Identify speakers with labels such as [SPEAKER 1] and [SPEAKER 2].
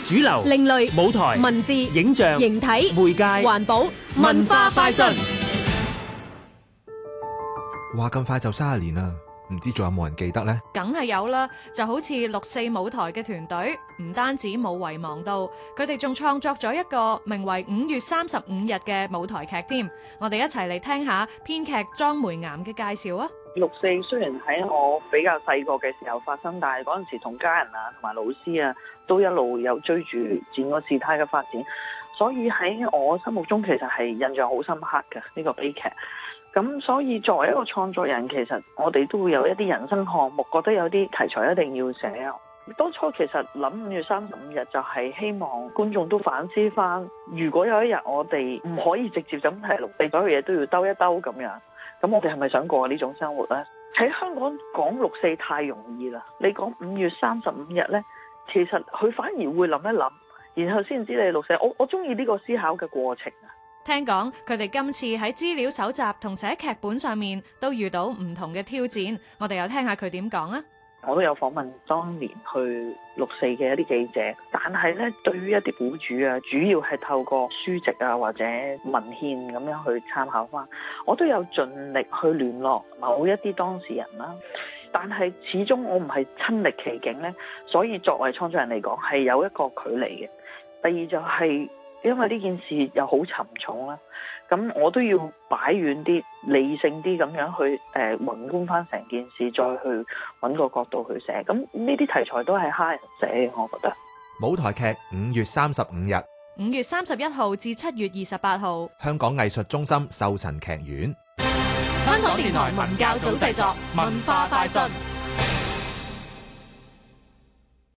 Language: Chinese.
[SPEAKER 1] 主流、
[SPEAKER 2] 另類、
[SPEAKER 1] 舞台、
[SPEAKER 2] 文字、
[SPEAKER 1] 影像、
[SPEAKER 2] 形體、
[SPEAKER 1] 媒介、
[SPEAKER 2] 環保、文化快訊。
[SPEAKER 3] 話咁快就30年啦，唔知仲有冇人記得呢？
[SPEAKER 4] 梗係有啦，就好似6·4舞台嘅團隊，唔單止冇遺忘到，佢哋仲創作咗一個名為《5月35日》嘅舞台劇添。我哋一齊嚟聽下編劇莊梅岩嘅介紹啊
[SPEAKER 5] ！6·4雖然喺我比較細個嘅時候發生，但係嗰陣時同家人啊同埋老師啊都一路有追住整個事態嘅發展，所以喺我心目中其實係印象好深刻嘅呢個悲劇。咁所以作為一個創作人，其實我哋都會有一啲人生項目，覺得有啲題材一定要寫。當初其實諗5月35日就係希望觀眾都反思翻，如果有一日我哋唔可以直接咁係6·4，所有嘢都要兜一兜咁樣，咁我哋係咪想過呢種生活呢？喺香港講6·4太容易啦，你講5月35日呢，其實佢反而會諗一諗，然後先知你6·4。我中意呢個思考嘅過程啊！
[SPEAKER 4] 聽講佢哋今次喺資料搜集同寫劇本上面都遇到唔同嘅挑戰，我哋又聽下佢點講啊！
[SPEAKER 5] 我都有訪問當年去6·4嘅一啲記者，但係咧對於一啲苦主啊，主要係透過書籍啊或者文獻咁樣去參考翻，我都有盡力去聯絡某一啲當事人啦。但係始終我唔係親歷其境咧，所以作為創作人嚟講係有一個距離嘅。第二就係因為呢件事又好沉重啦，咁我都要擺遠啲、理性啲咁樣去宏觀翻成件事，再去揾個角度去寫。咁呢啲題材都係蝦人寫，我覺得。
[SPEAKER 3] 舞台劇5月35日
[SPEAKER 4] ，5月31號至7月28號，
[SPEAKER 3] 香港藝術中心壽臣劇院。
[SPEAKER 2] 香港電台文教組製作，文化快訊。